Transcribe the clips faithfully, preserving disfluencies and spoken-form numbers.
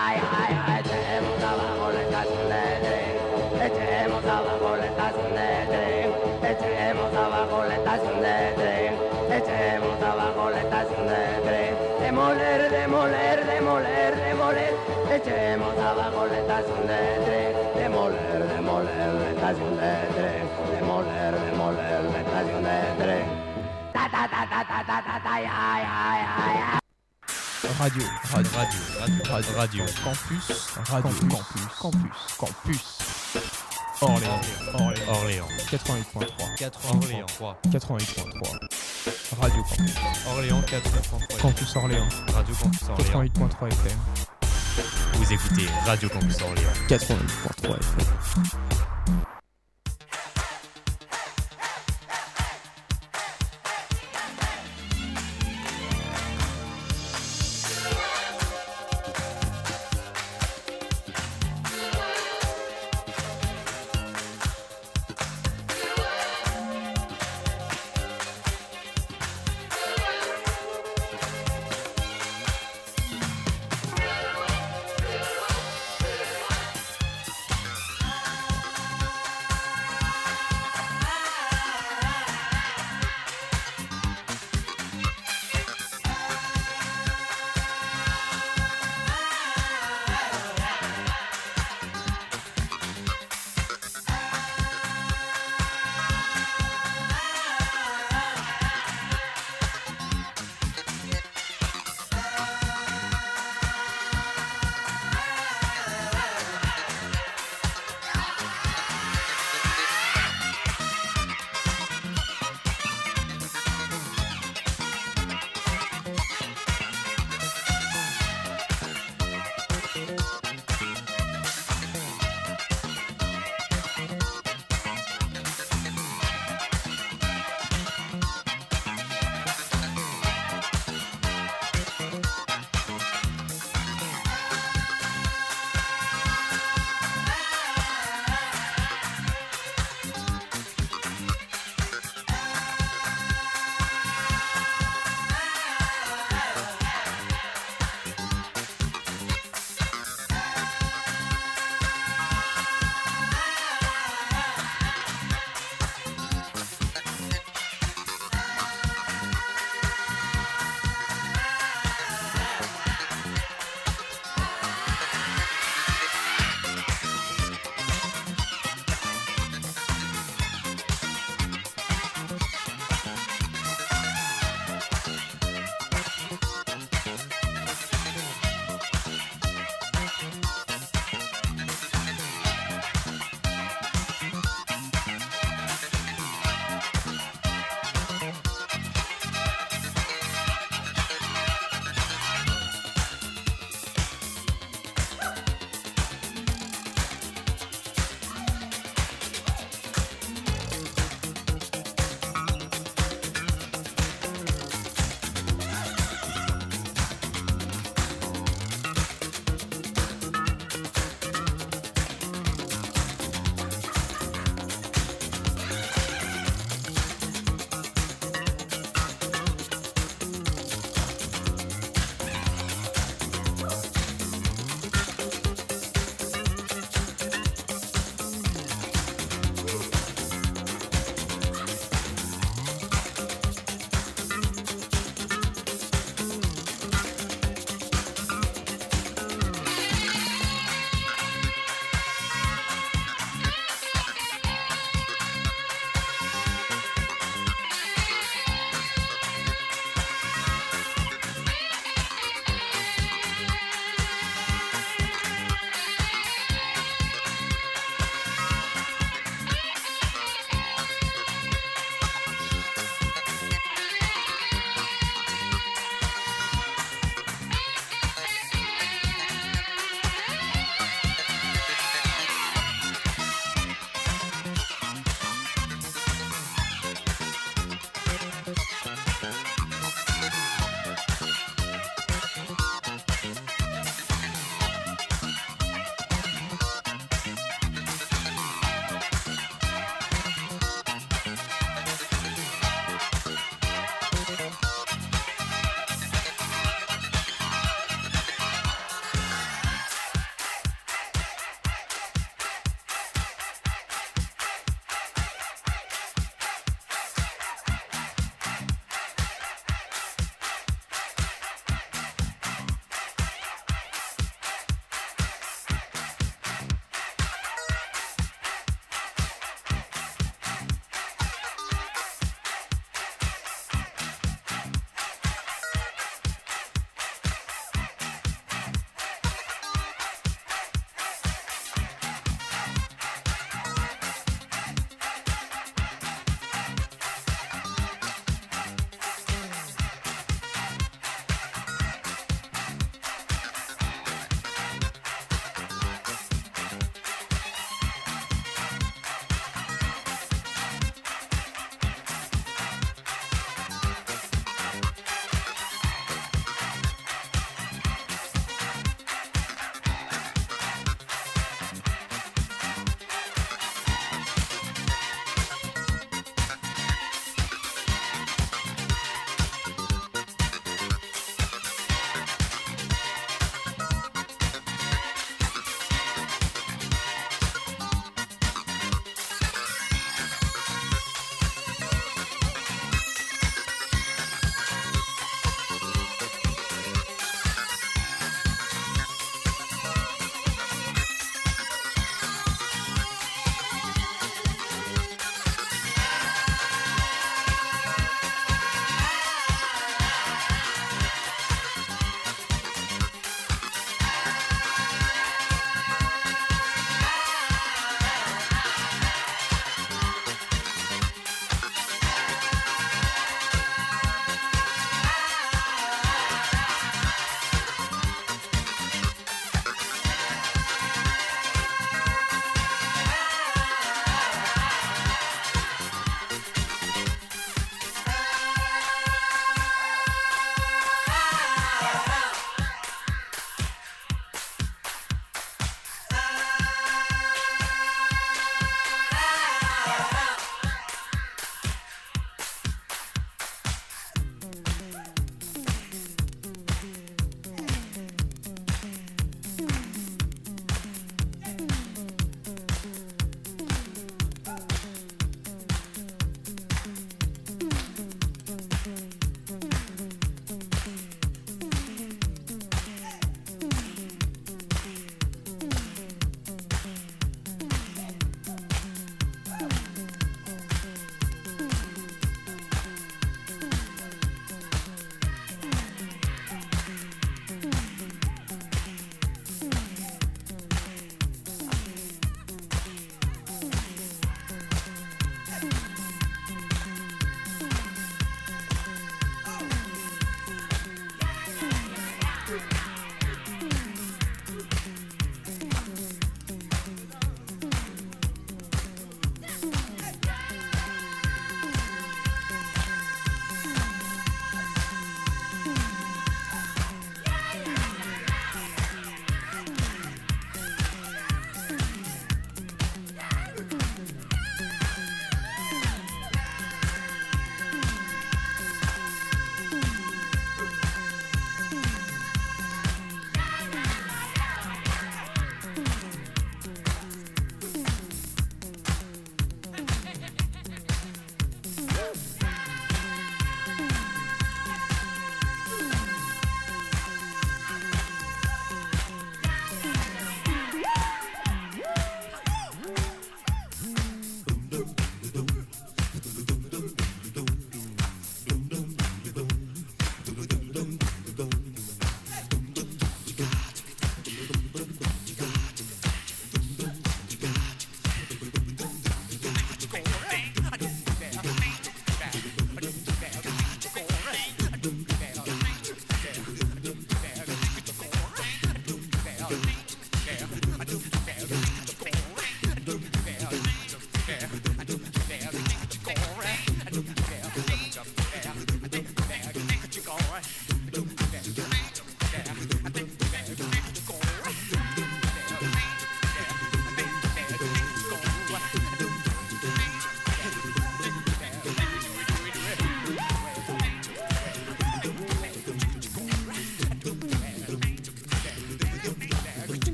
ay, ay, ay, echemos abajo la estación de tren, echemos abajo la estación de tren, echemos abajo la estación de tren, echemos abajo la estación de tren, demoler, demoler, demoler, demoler, echemos abajo la estación de tren, demoler, demoler la estación de tren, demoler, demoler la estación de tren. Ta ta ta ta ta ta ta ta, ay, ay, ay, ay. Radio, radio, radio, radio, radio, campus, radio, campus, campus, campus. Orléans, Orléans, Orléans, quatre-vingt-huit point trois, quatre-vingt-huit point trois, quatre-vingt-huit point trois. Radio Campus, Orléans, quatre-vingt-huit point trois, Campus Orléans, Radio Campus Orléans, quatre-vingt-huit point trois F M. Vous écoutez Radio Campus Orléans, quatre-vingt-huit point trois F M.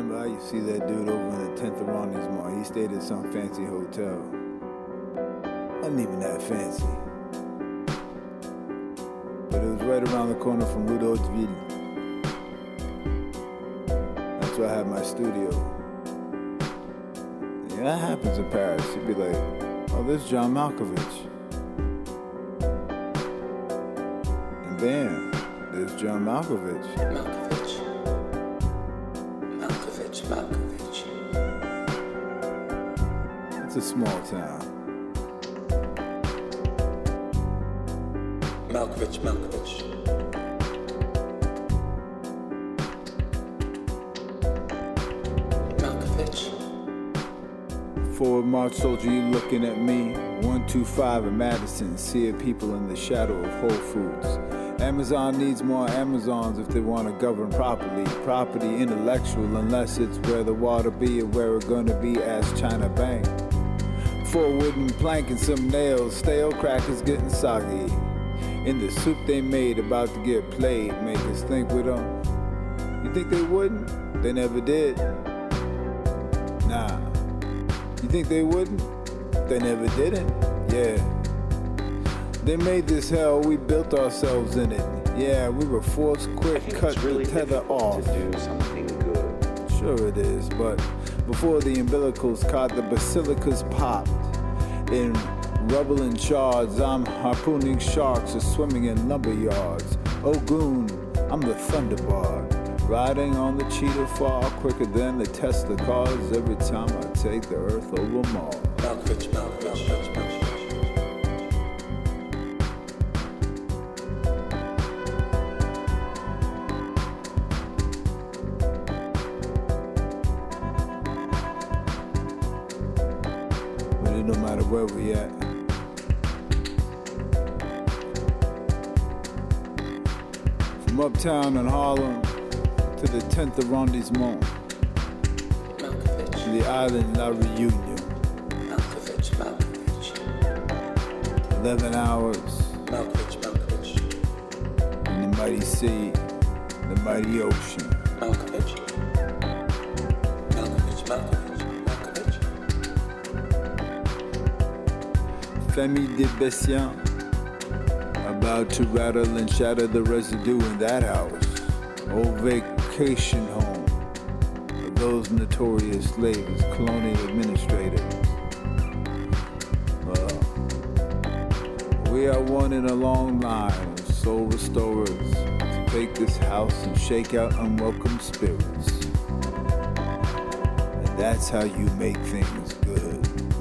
remember, I used to see that dude over in the tenth arrondissement. He stayed at some fancy hotel. Wasn't even that fancy. But it was right around the corner from Rue d'Hauteville. That's where I had my studio. Yeah, that happens in Paris. You'd be like, oh, this is John Malkovich. And bam, there's John Malkovich. Malkovich. Malkovich, Malkovich. It's a small town. Malkovich, Malkovich. Malkovich. Forward march soldier, you looking at me. one two five in Madison, see people in the shadow of Whole Foods. Amazon needs more Amazons if they want to govern properly. Property intellectual unless it's where the water be or where it's gonna be, as China Bank. Four wooden plank and some nails, stale crackers getting soggy. In the soup they made, about to get played, make us think with them. You think they wouldn't? They never did. Nah. You think they wouldn't? They never didn't. Yeah. They made this hell, we built ourselves in it. Yeah, we were forced quick, cut really the tether off. To do something good. Sure it is, but before the umbilicals caught, the basilicas popped. In rubble and shards, I'm harpooning sharks or swimming in lumber yards. Oh goon, I'm the Thunderbird, riding on the cheetah far quicker than the Tesla cars every time I take the earth over Mars. Malkovich, Malkovich, Malkovich. But it don't matter where we at. From uptown in Harlem to the tenth arrondissement, Malkovich. to the island La Reunion. Malkovich, Malkovich. Eleven hours Malkovich, Malkovich. in the mighty sea, the mighty ocean. Malkovich. Malkovich, Malkovich, Malkovich. Famille de Bessian, about to rattle and shatter the residue in that house. Old vacation home of those notorious slaves, colonial administrators. Well, we are one in a long line of soul restorers to take this house and shake out unwelcome spirits. And that's how you make things good.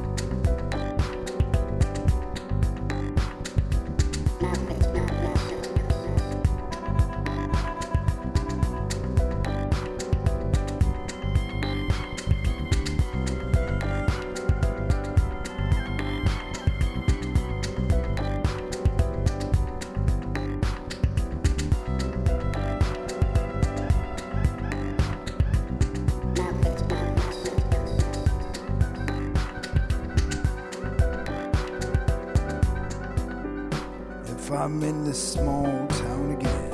If I'm in this small town again,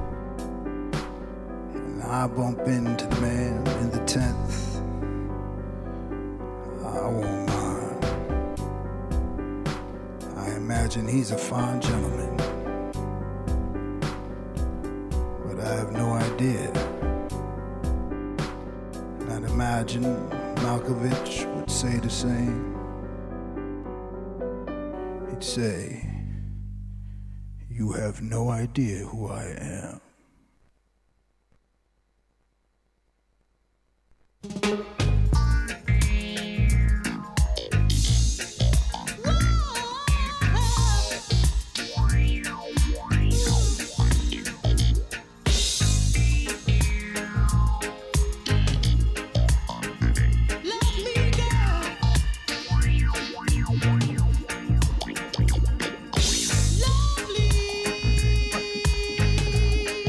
and I bump into the man in the tenth, I won't mind. I imagine he's a fine gentleman, but I have no idea. And I'd imagine Malkovich would say the same. He'd say, "You have no idea who I am." Lovely.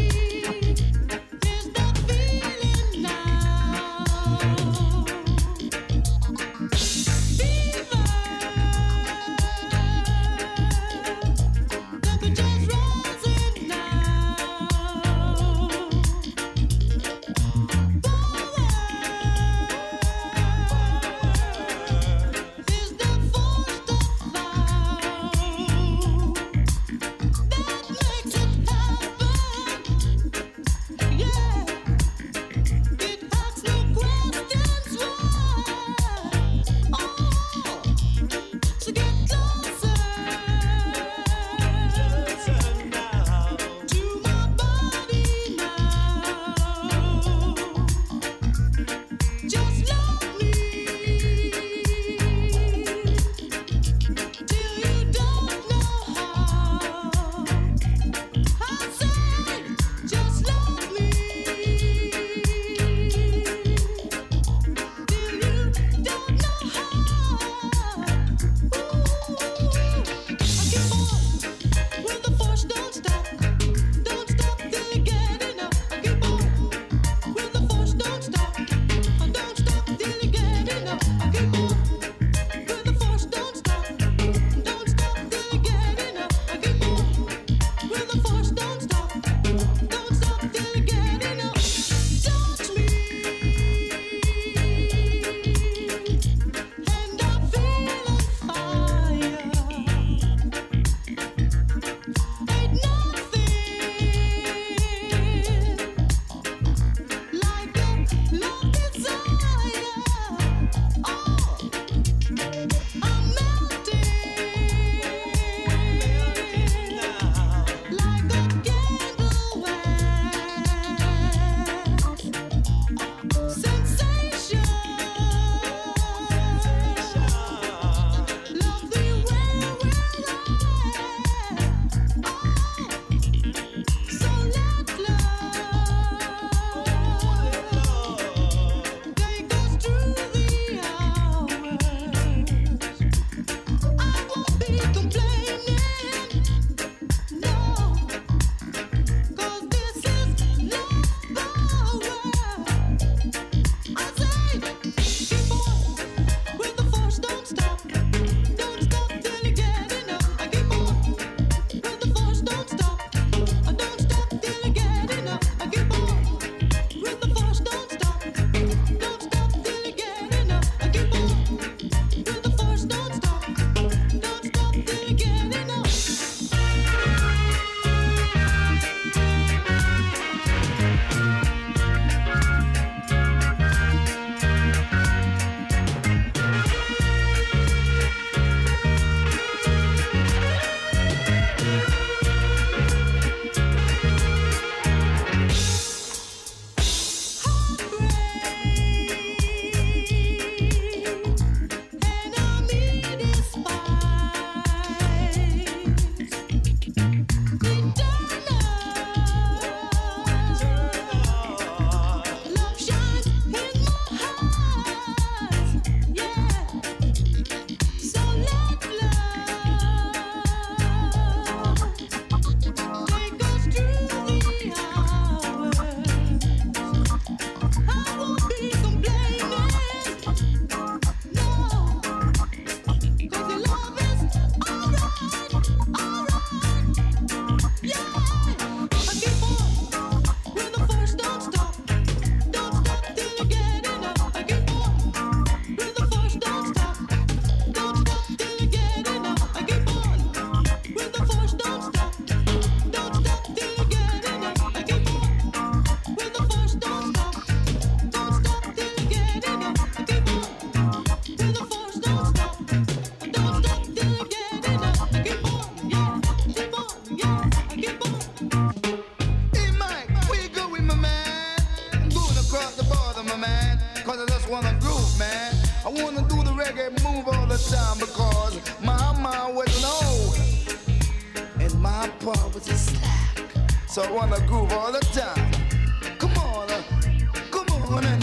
reggae move all the time because mama was low and my pa was a slack. So I wanna groove all the time. Come on, uh, come on and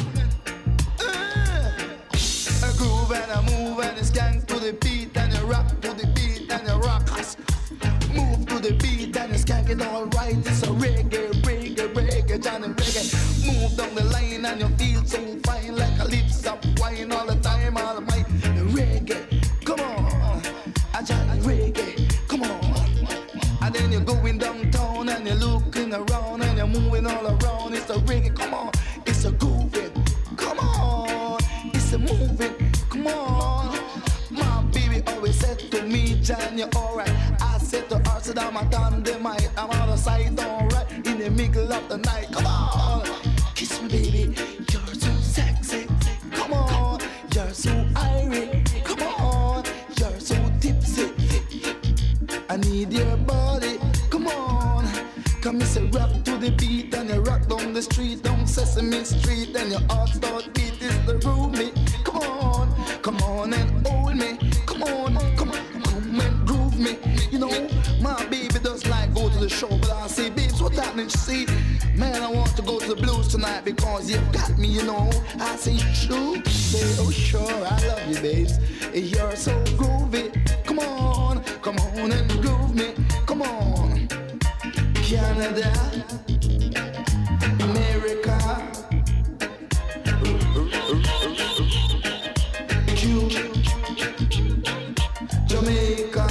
uh, I groove and I move and I skank to the beat and I rock to the beat and I rock us. Move to the beat and I skank it all right. It's a reggae, reggae, reggae, Johnny reggae. Move down the line and you feel so fine like a lips up wine all the time. All of my reggae, come on, I Johnny reggae, come on. And then you're going downtown and you're looking around and you're moving all around. It's a reggae, come on, it's a grooving, come on, it's a moving, come on. My baby always said to me, John, you're alright. I said to her, said I'm a dynamite, I'm out of sight, alright. In the middle of the night, come on, kiss me, baby, you're so sexy. Come on, you're so irate. Come on, you're so tipsy. I need your body. Come on, come and say rock to the beat and you rock down the street, down Sesame Street, and your heart start beat is the roomie. Come on, come on and hold me. Come on, come on, come and groove me. You know, my baby does like go to the show, but I say, babes, what's happening? She say, man, I want to go to the blues tonight because you've got me, you know. I say, true. Say, oh sure, I love you, babes. You're so groovy. Come on, come on and groove me. Come on, Canada, America, Cuba, Jamaica,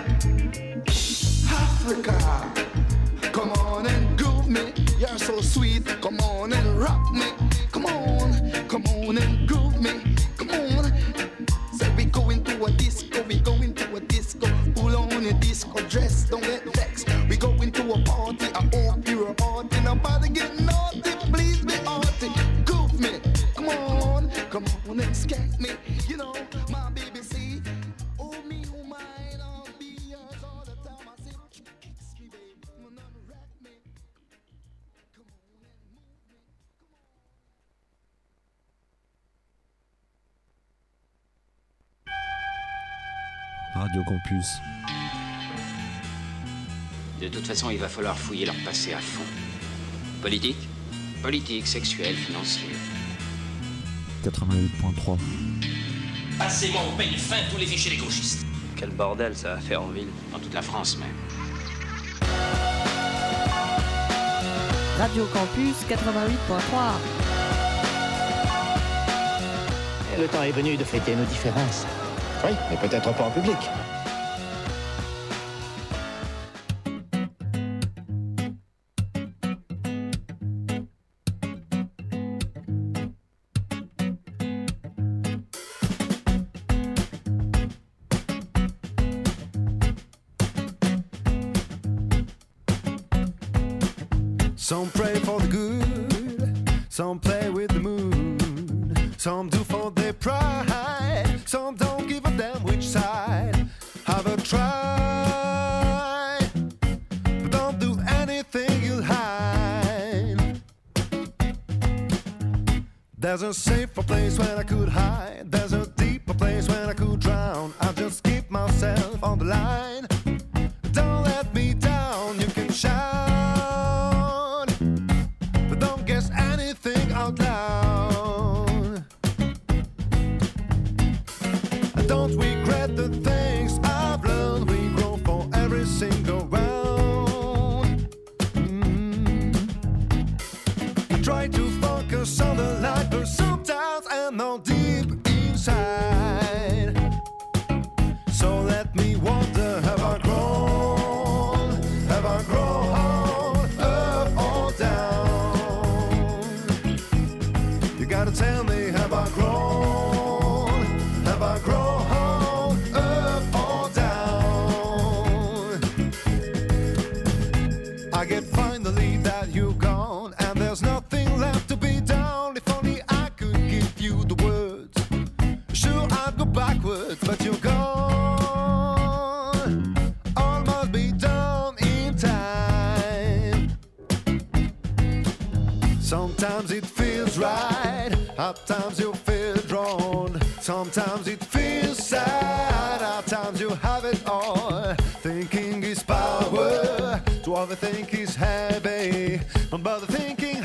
Africa. Come on and groove me. You're so sweet. Come on and rock me. Come on, come on and groove me. Come on. Say we go into a disco. We go into a disco. Pull on your disco dress. Don't get vexed. We go into a party. I hope you're a party. Nobody get naughty. Please be arty. Groove me. Come on, come on and skank me. You know my baby see. Oh me, oh mine. I'll be yours all the time. I say, kiss me, baby. Come on and rock me. Come on and move me. Come on. Radio Campus. De toute façon, il va falloir fouiller leur passé à fond. Politique, politique, sexuelle, financière. quatre-vingt-huit point trois. Passez-moi au peigne fin tous les fichiers des gauchistes. Quel bordel ça va faire en ville, dans toute la France même. Radio Campus quatre-vingt-huit point trois. Le temps est venu de fêter nos différences. Oui, mais peut-être pas en public. Some pray for the good, some play with the moon, some do for their pride, some don't give a damn which side. Have a try, but don't do anything you'll hide. There's a safer place where I could hide, there's a deeper place where I could drown. I'll just keep myself on the line. Don't let me down, you can shout. Out loud. I don't regret the things I've learned. We grow for every single round. Mm. I try to focus on the light, but sometimes I'm not deep inside. So let me wonder, have I grown? Have I grown up or down? Gotta tell me, have I grown? Have I grown up or down? I get finally that you're gone, and there's nothing left to be done. If only I could give you the words. Sure, I'd go backwards, but you're gone. All must be done in time. Sometimes it feels right. At times you feel drawn, sometimes it feels feel sad. At times you have it all. Thinking is power. To overthink is heavy. But the thinking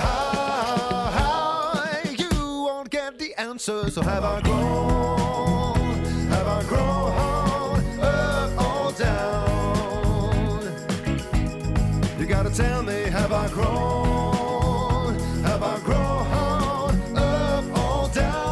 high, you won't get the answer. So have I grown? Have I grown up or down? You gotta tell me, have I grown? Have I grown up or down?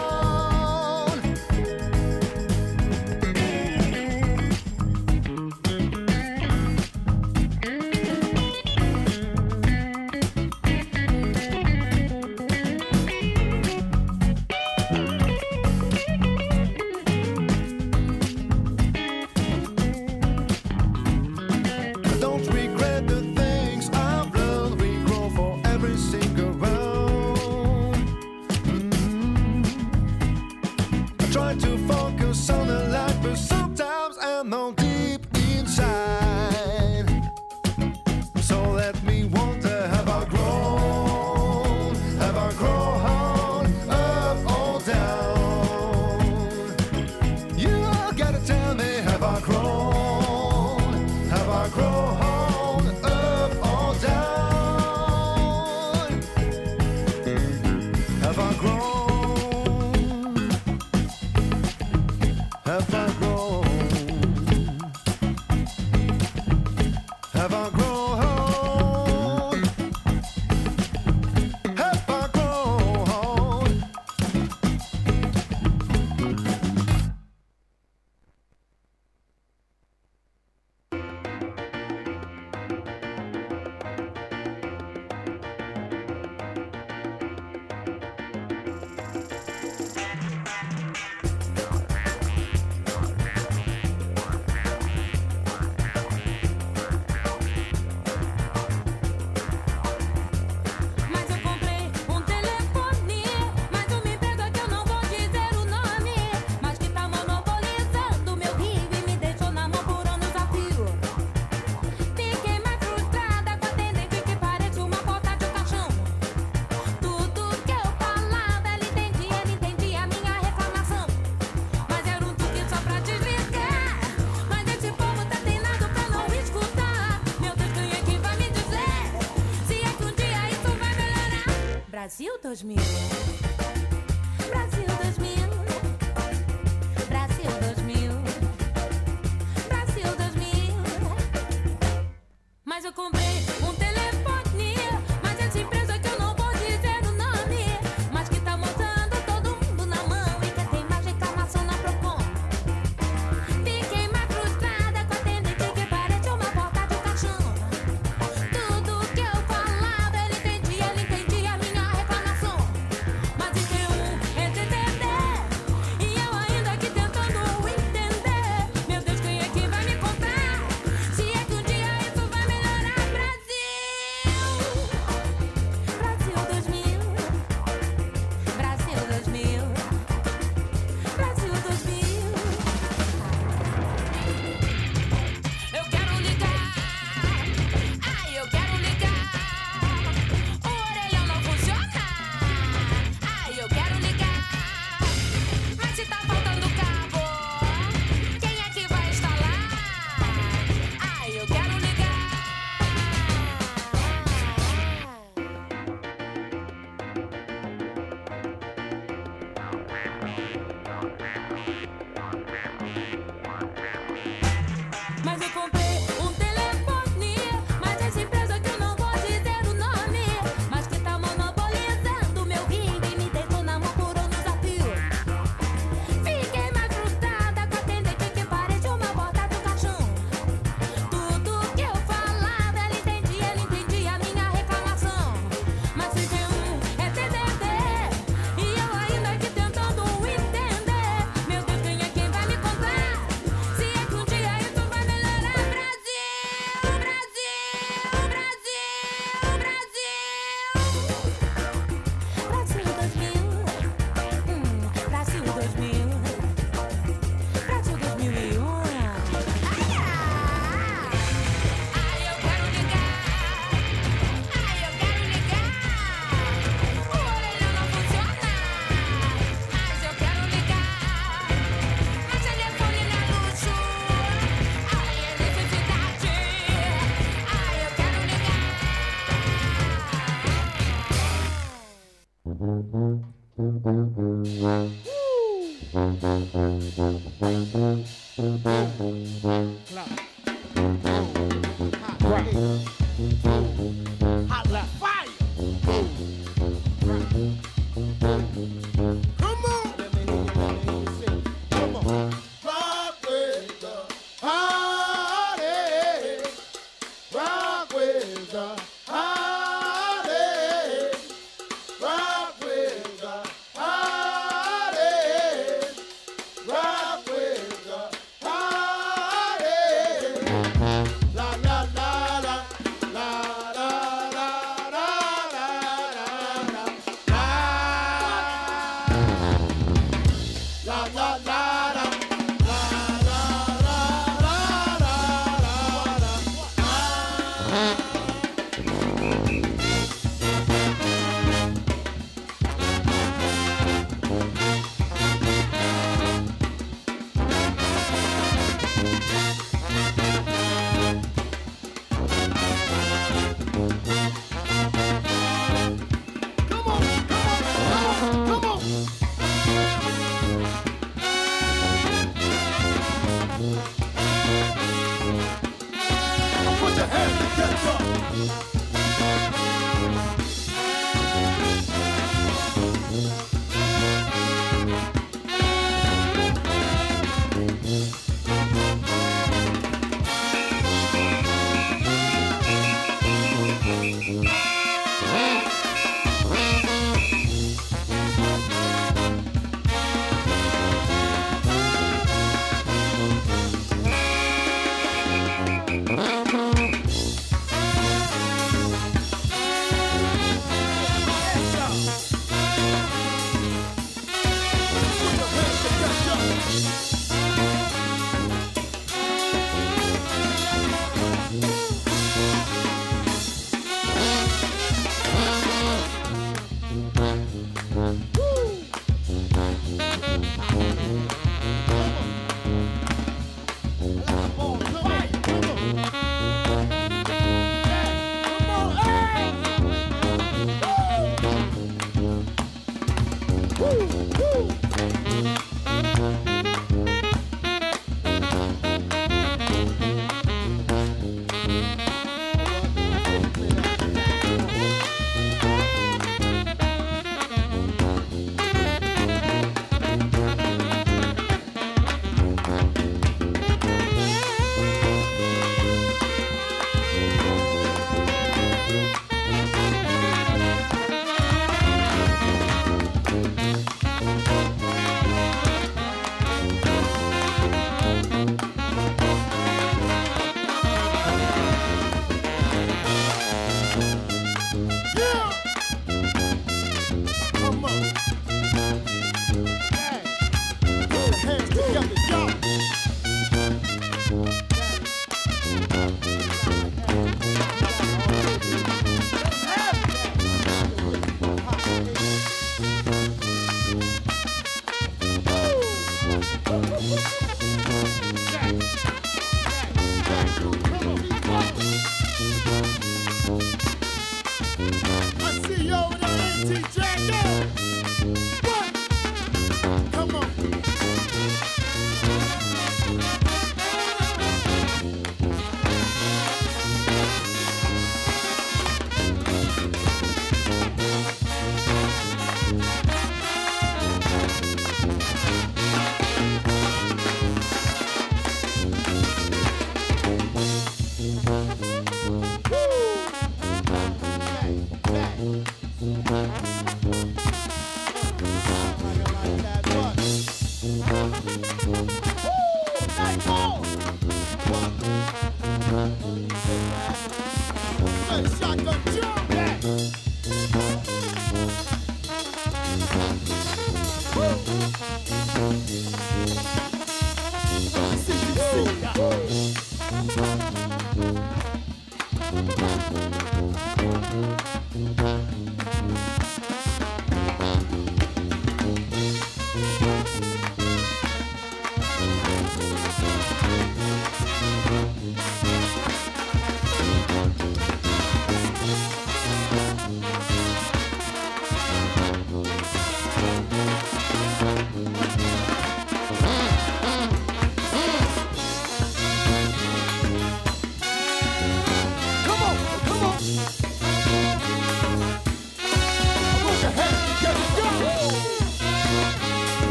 Brasil dois mil. Brasil dois mil. Brasil dois mil. Brasil dois mil. Mas eu comprei um telefone, mas essa empresa que eu não vou dizer o nome, mas que tá montando todo mundo na mão e quer ter mais reclamação na Procon. Fiquei mais frustrada com a atendente que parece uma porta de caixão. Tudo que eu falava ele entendia, ele entendia a minha reclamação. Mas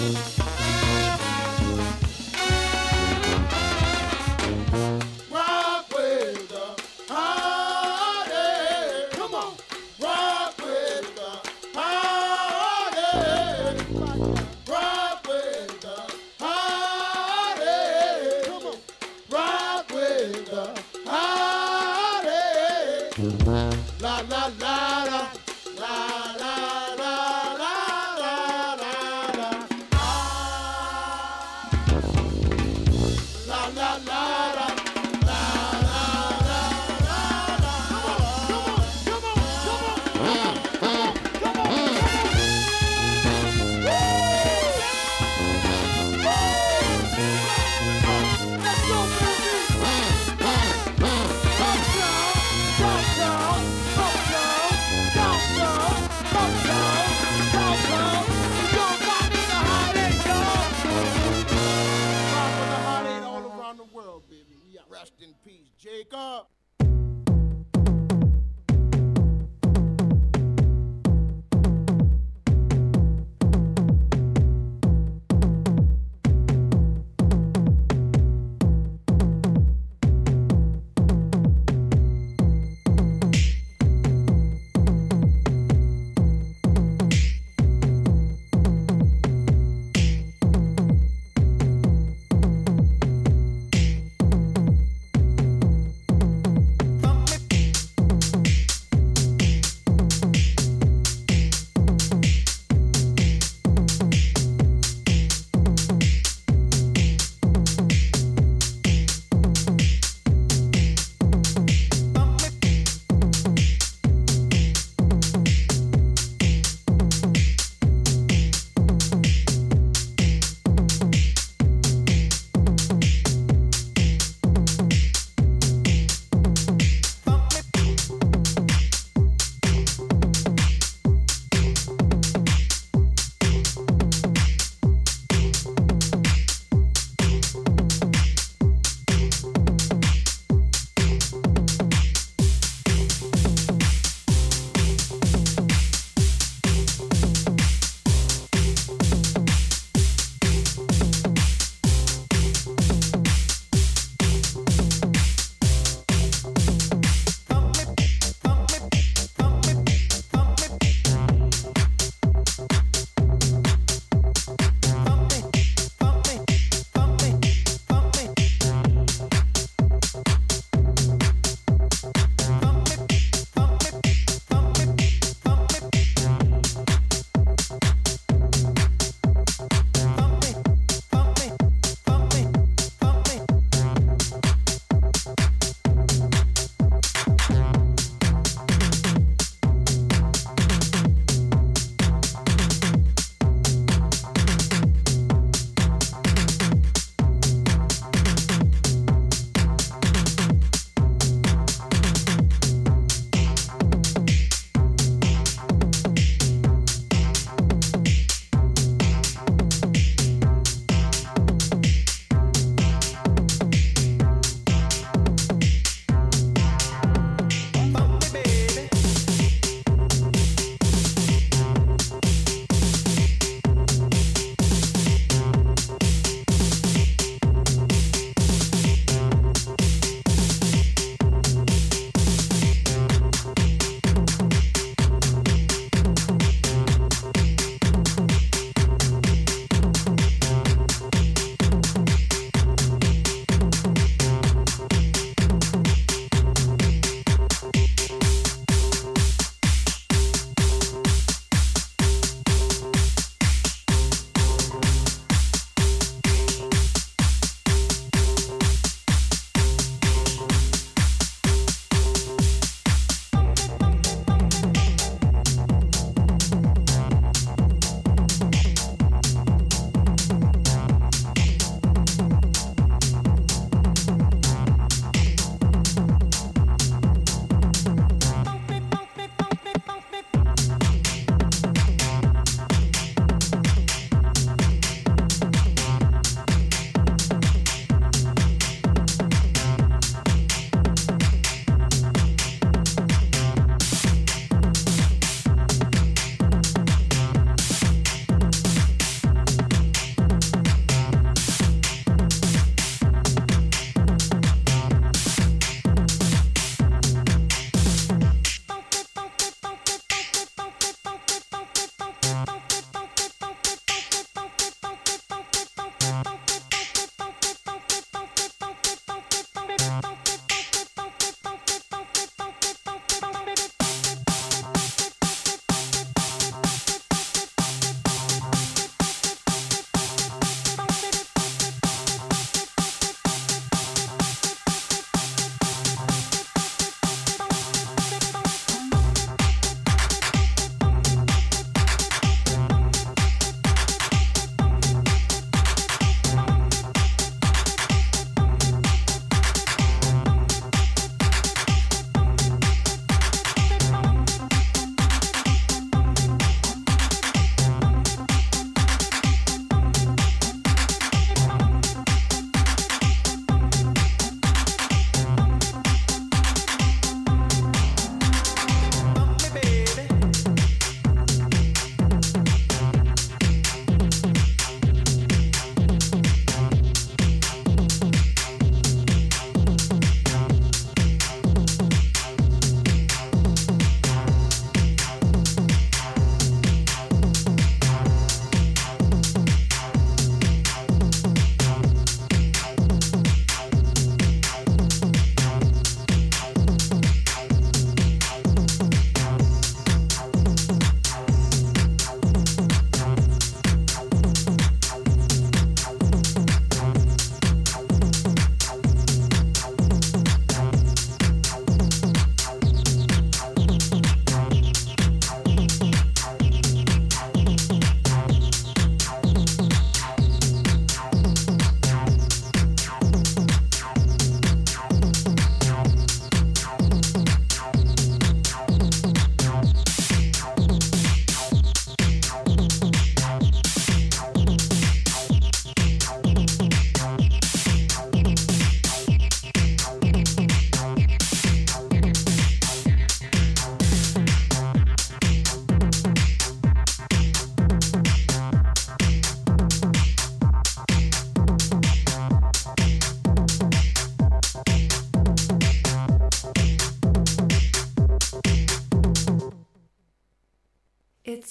Rock with the party. Come on. Rock with the party. Rock with the party. Come on. Rock with the party. La la la la. La la la la la la la. Ah. La la la la. Rest in peace, Jacob.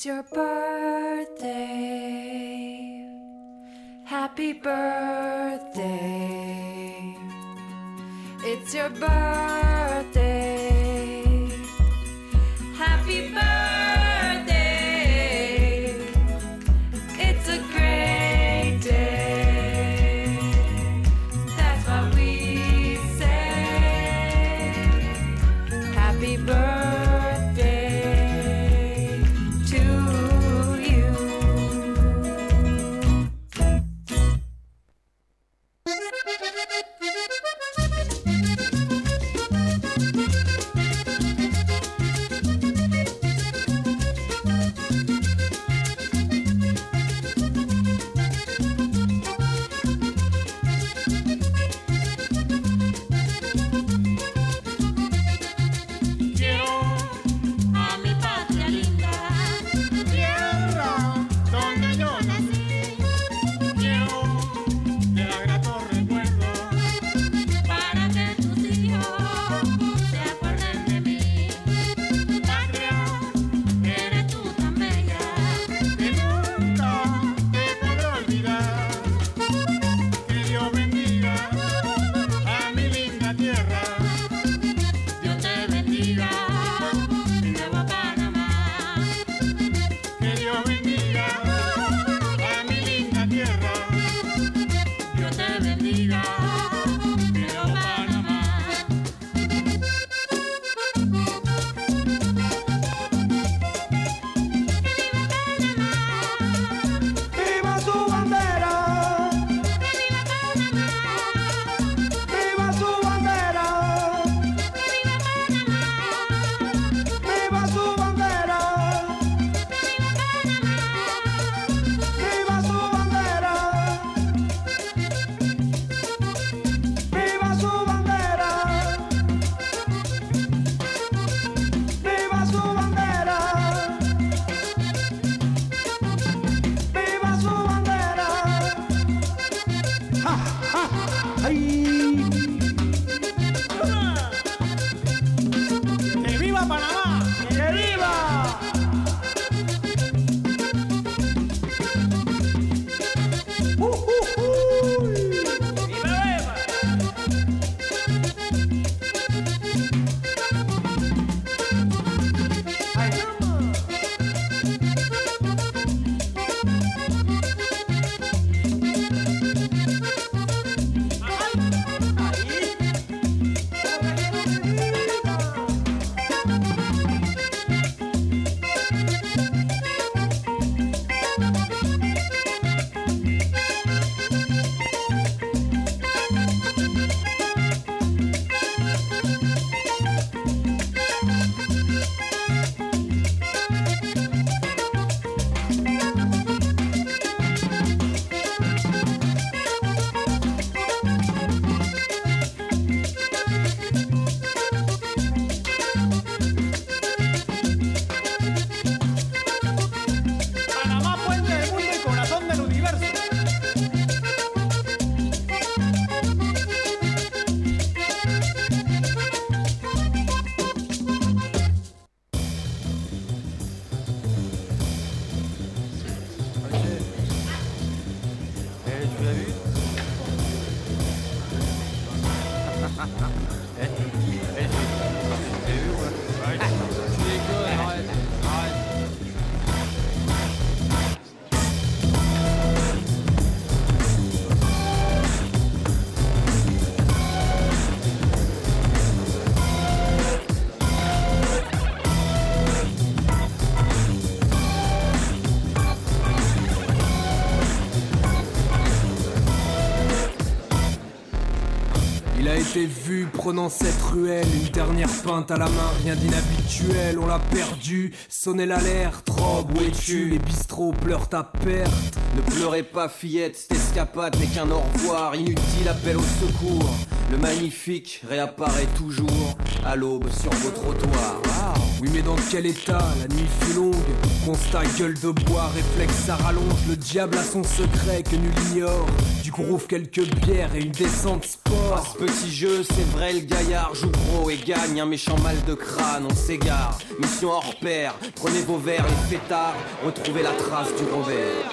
It's your birthday. Happy birthday. It's your birthday. Happy birthday. It's a great day. That's what we say. Happy birthday to you. J'ai vu prenant cette ruelle, une dernière pinte à la main, rien d'inhabituel, on l'a perdu, sonnez l'alerte, robe, où es-tu? Les bistrots pleurent ta perte. Ne pleurez pas fillette, cette escapade n'est qu'un au revoir, inutile appel au secours. le magnifique réapparaît toujours à l'aube sur vos trottoirs. Wow. Oui mais dans quel état, la nuit fut longue, constat gueule de bois, réflexe ça rallonge, le diable a son secret que nul ignore, du groove quelques bières et une descente sport. À ce petit jeu c'est vrai le gaillard joue gros et gagne un méchant mal de crâne, on s'égare, mission hors pair, prenez vos verres les fêtards, retrouvez la trace du Robert.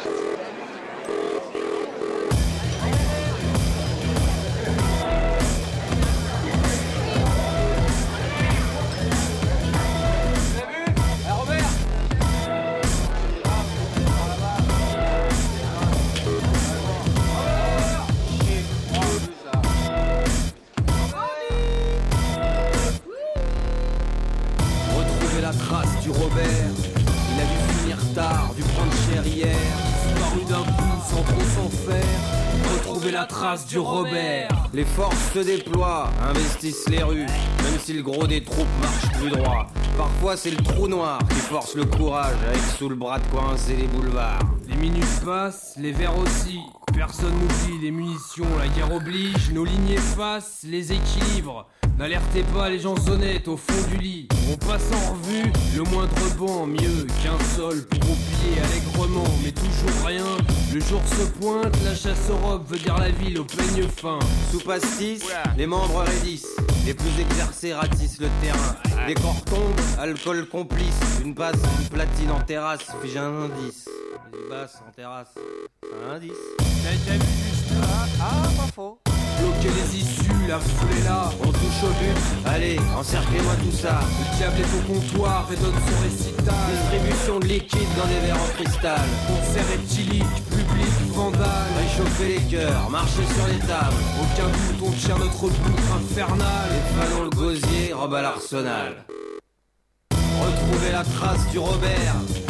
Du Robert, il a dû finir tard, dû prendre cher hier, disparu d'un coup sans trop s'en faire. Retrouver la trace du Robert. Les forces se déploient, investissent les rues, même si le gros des troupes marche plus droit. Parfois c'est le trou noir qui force le courage, avec sous le bras de quoi coincer les boulevards. Les minutes passent, les verres aussi. Personne n'oublie les munitions, la guerre oblige. Nos lignes effacent les équilibres. N'alertez pas les gens honnêtes au fond du lit. On passe en revue le moindre banc, mieux qu'un sol pour oublier allègrement, mais toujours rien. Le jour se pointe, la chasse aux robes veut dire la ville au peigne fin. Sous pastis, les membres raidissent, les plus exercés ratissent le terrain. Les corps tombent, alcool complice, une passe, une platine en terrasse, fige un indice. Les basses en terrasse, un indice. T'as déjà vu juste là? Ah, pas faux. Bloquer les issues, la foule est là. On touche au but, allez, encerclez-moi tout ça. Le diable est au comptoir et donne son récital. Distribution de liquide dans des verres en cristal. Concert éthylique, public, vandale. Réchauffer les cœurs, marcher sur les tables. Aucun doute, on tient notre boucle infernale. Les fanons le gosier, robe à l'arsenal. Retrouver la trace du Robert.